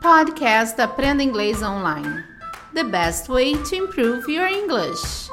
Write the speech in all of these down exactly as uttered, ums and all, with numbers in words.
Podcast Aprenda Inglês Online. The best way to improve your English.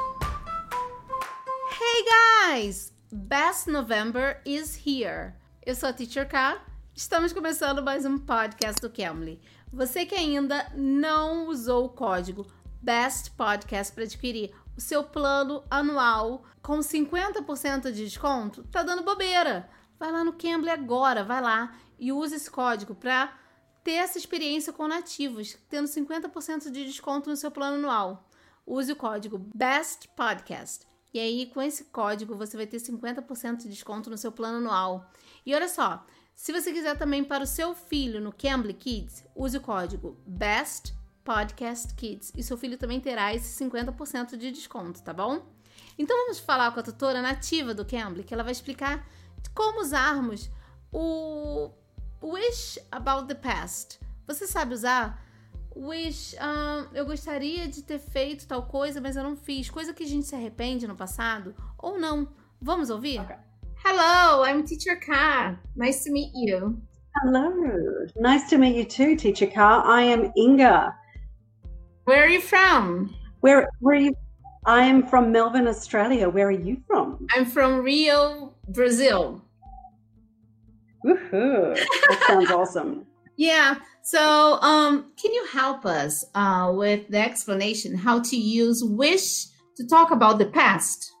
Hey guys! Best November is here. Eu sou a Teacher K. Estamos começando mais um podcast do Cambly. Você que ainda não usou o código Best Podcast para adquirir o seu plano anual com cinquenta por cento de desconto, tá dando bobeira. Vai lá no Cambly agora, vai lá e use esse código para ter essa experiência com nativos, tendo cinquenta por cento de desconto no seu plano anual. Use o código Best Podcast. E aí, com esse código, você vai ter cinquenta por cento de desconto no seu plano anual. E olha só, se você quiser também para o seu filho no Cambly Kids, use o código Best Podcast Kids. E seu filho também terá esse cinquenta por cento de desconto, tá bom? Então vamos falar com a tutora nativa do Cambly, que ela vai explicar como usarmos o Wish About the Past. Você sabe usar? Wish, um, eu gostaria de ter feito tal coisa, mas eu não fiz. Coisa que a gente se arrepende no passado ou não. Vamos ouvir? Okay. Hello, I'm Teacher K. Nice to meet you. Hello. Nice to meet you too, Teacher K. I am Inga. Where are you from? Where, where are you? I am from Melbourne, Australia. Where are you from? I'm from Rio, Brazil. Woohoo. That sounds awesome. Yeah. So, um, can you help us uh, with the explanation how to use wish to talk about the past?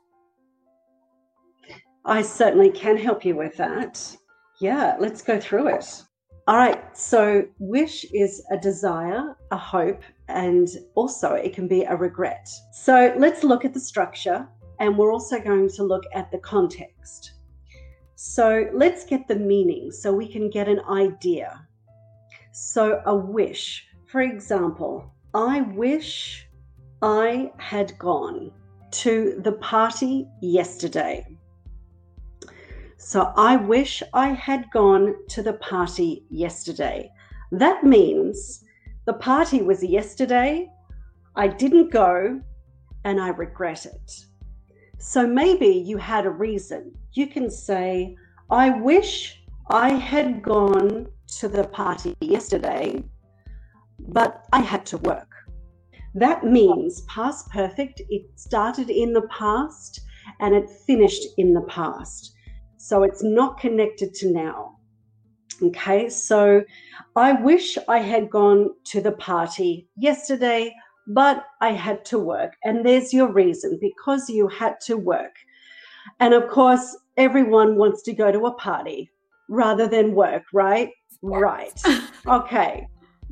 I certainly can help you with that. Yeah, let's go through it. All right. So, wish is a desire, a hope, and also it can be a regret. So, let's look at the structure, and we're also going to look at the context. So let's get the meaning so we can get an idea. So a wish, for example, I wish I had gone to the party yesterday. So I wish I had gone to the party yesterday. That means the party was yesterday, I didn't go, and I regret it. So maybe you had a reason. You can say, I wish I had gone to the party yesterday, but I had to work. That means past perfect. It started in the past and it finished in the past. So it's not connected to now. Okay, so I wish I had gone to the party yesterday, but I had to work. And there's your reason, because you had to work. And of course, everyone wants to go to a party rather than work, right? Right. Okay.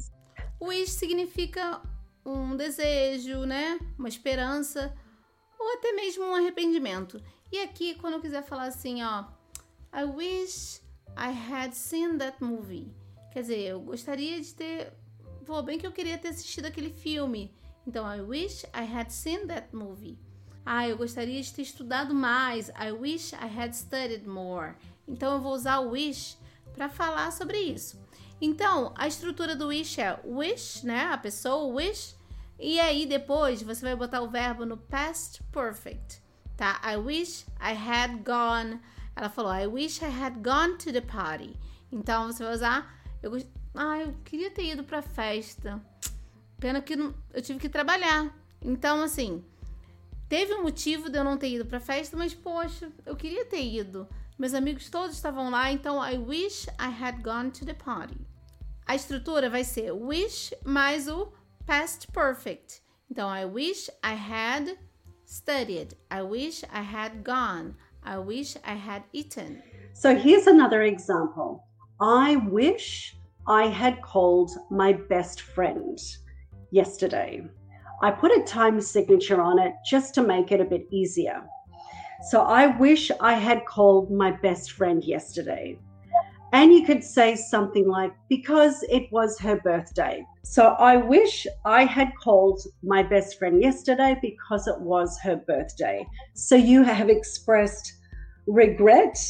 Wish significa um desejo, né? Uma esperança ou até mesmo um arrependimento. E aqui, quando eu quiser falar assim, ó, I wish I had seen that movie. Quer dizer, eu gostaria de ter... Pô, bem que eu queria ter assistido aquele filme. Então, I wish I had seen that movie. Ah, eu gostaria de ter estudado mais. I wish I had studied more. Então, eu vou usar o wish para falar sobre isso. Então, a estrutura do wish é wish, né? A pessoa, wish. E aí, depois, você vai botar o verbo no past perfect, tá? I wish I had gone. Ela falou, I wish I had gone to the party. Então, você vai usar... Eu gost... Ah, eu queria ter ido pra festa. Pena que não... eu tive que trabalhar. Então, assim... Teve um motivo de eu não ter ido pra festa, mas, poxa, eu queria ter ido. Meus amigos todos estavam lá, então I wish I had gone to the party. A estrutura vai ser wish mais o past perfect. Então, I wish I had studied. I wish I had gone. I wish I had eaten. So here's another example. I wish I had called my best friend yesterday. I put a time signature on it just to make it a bit easier. So I wish I had called my best friend yesterday. And you could say something like, because it was her birthday. So I wish I had called my best friend yesterday because it was her birthday. So you have expressed regret.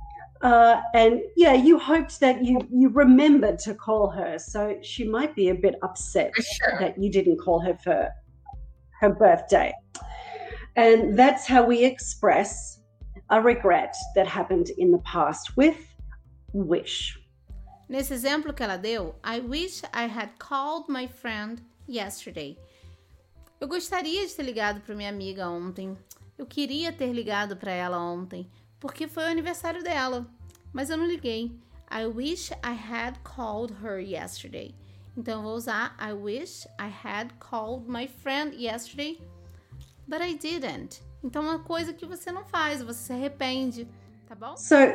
Uh, and yeah, you hoped that you, you remembered to call her. So she might be a bit upset Sure. that you didn't call her for her birthday. And that's how we express a regret that happened in the past with wish. Nesse exemplo que ela deu, I wish I had called my friend yesterday. Eu gostaria de ter ligado para minha amiga ontem. Eu queria ter ligado para ela ontem, porque foi o aniversário dela. Mas eu não liguei. I wish I had called her yesterday. Então eu vou usar I wish I had called my friend yesterday, but I didn't. Então é uma coisa que você não faz, você se arrepende, tá bom? So